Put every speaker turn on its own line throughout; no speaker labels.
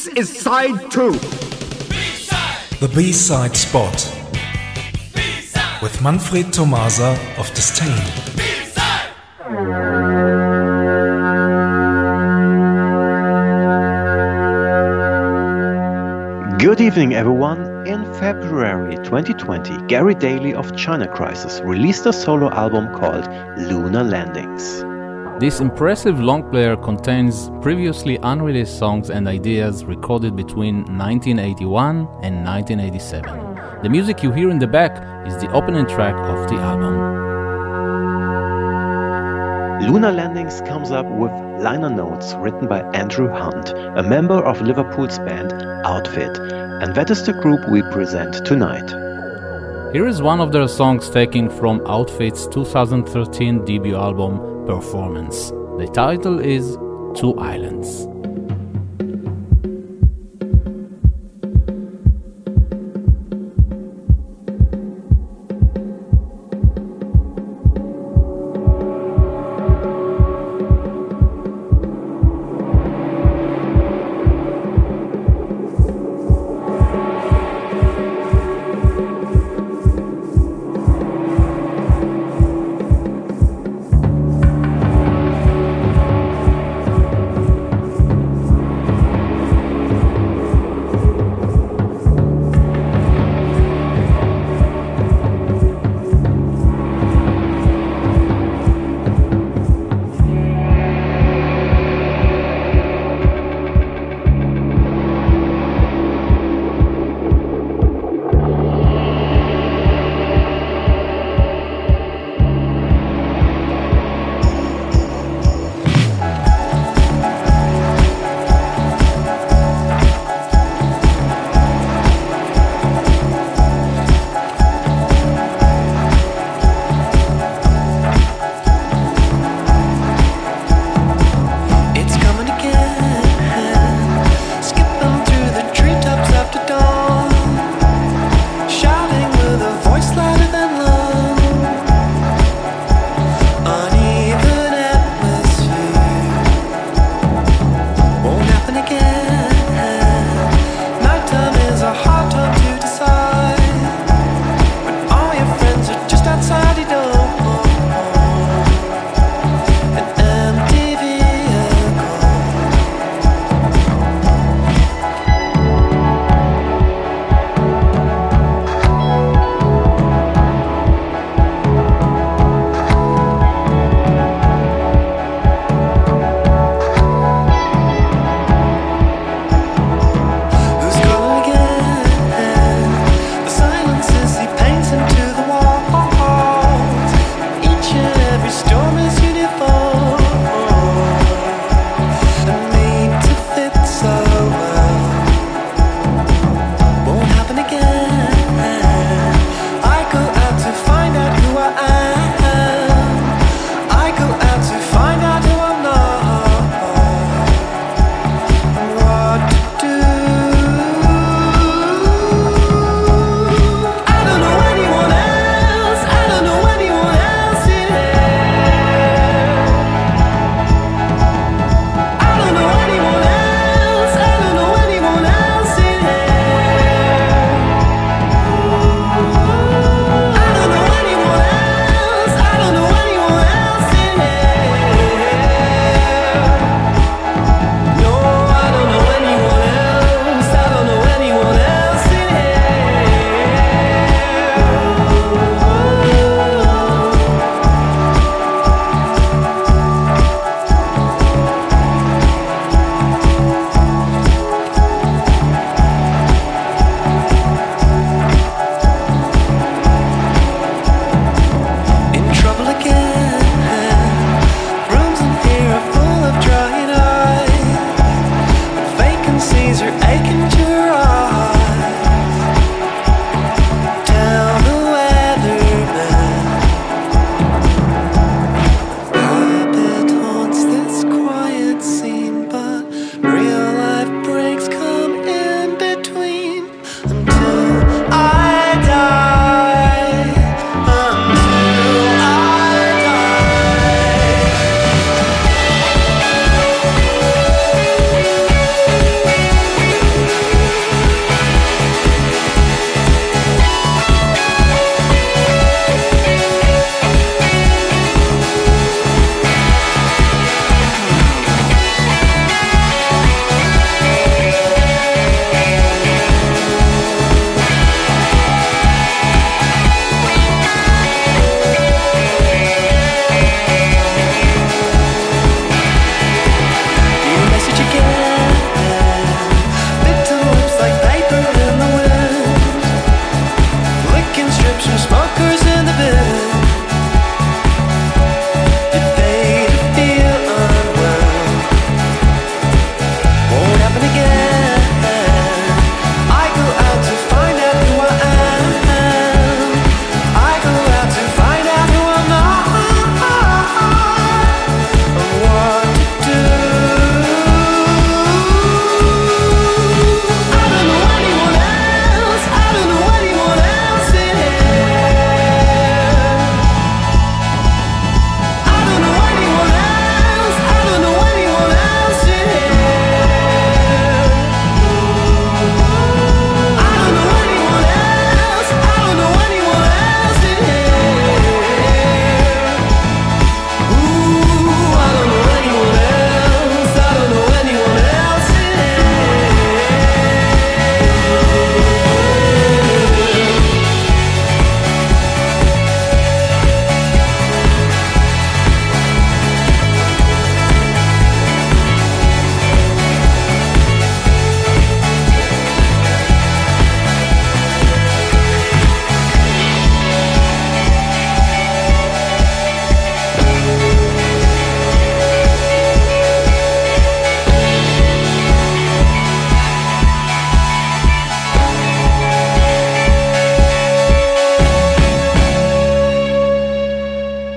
This is side 2.
B-side. The B-side spot. B-side. With Manfred Tomasa of Disdain. B-side.
Good evening, everyone. In February 2020, Gary Daly of China Crisis released a solo album called Lunar Landings.
This impressive long player contains previously unreleased songs and ideas recorded between 1981 and 1987. The music you hear in the back is the opening track of the album.
Lunar Landings comes up with liner notes written by Andrew Hunt, a member of Liverpool's band Outfit, and that is the group we present tonight.
Here is one of their songs taken from Outfit's 2013 debut album Performance. The title is Two Islands.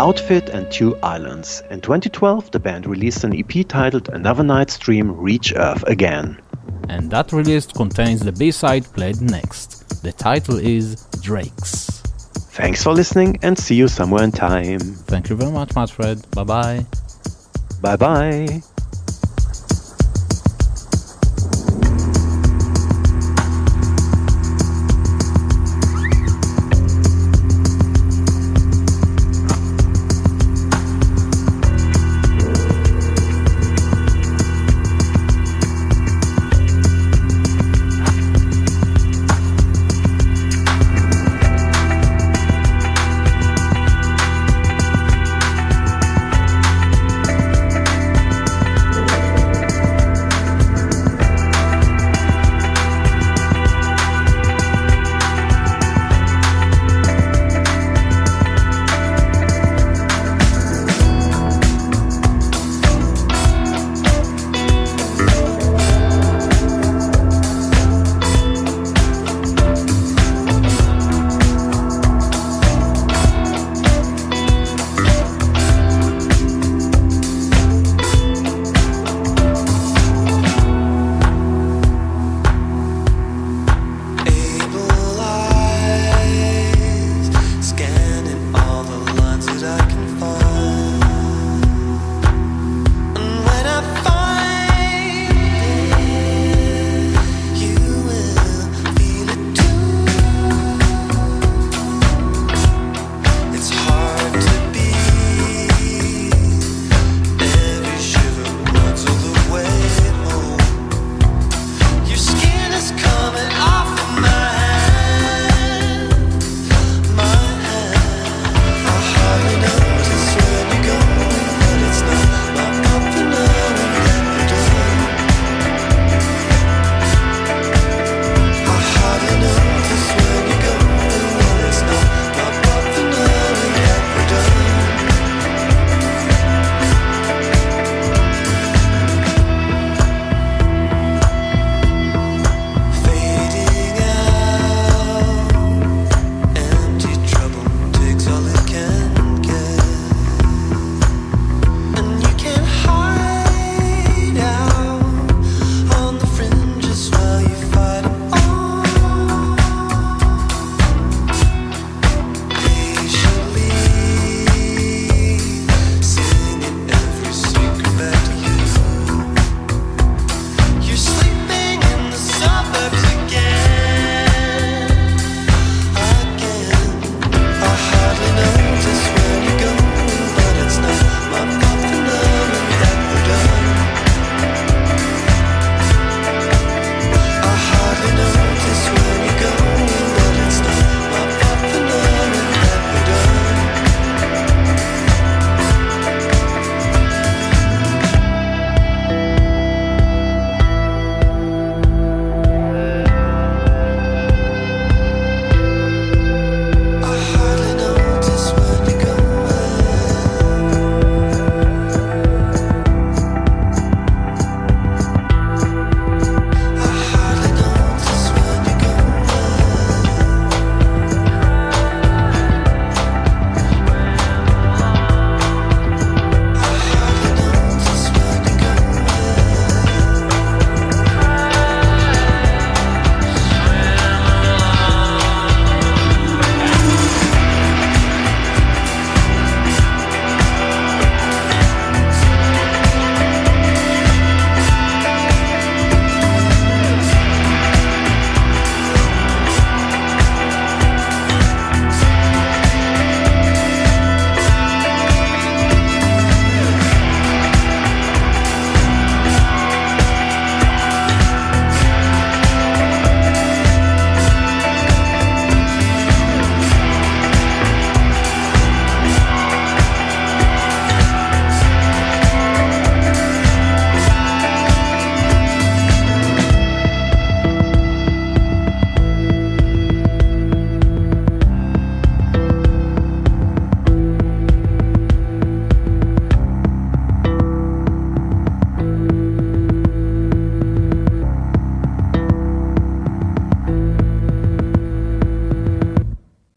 Outfit and Two Islands. In 2012, the band released an EP titled Another Night's Dream Reach Earth Again.
And that release contains the B-side played next. The title is Drakes.
Thanks for listening and see you somewhere in time.
Thank you very much, Manfred. Bye-bye.
Bye-bye.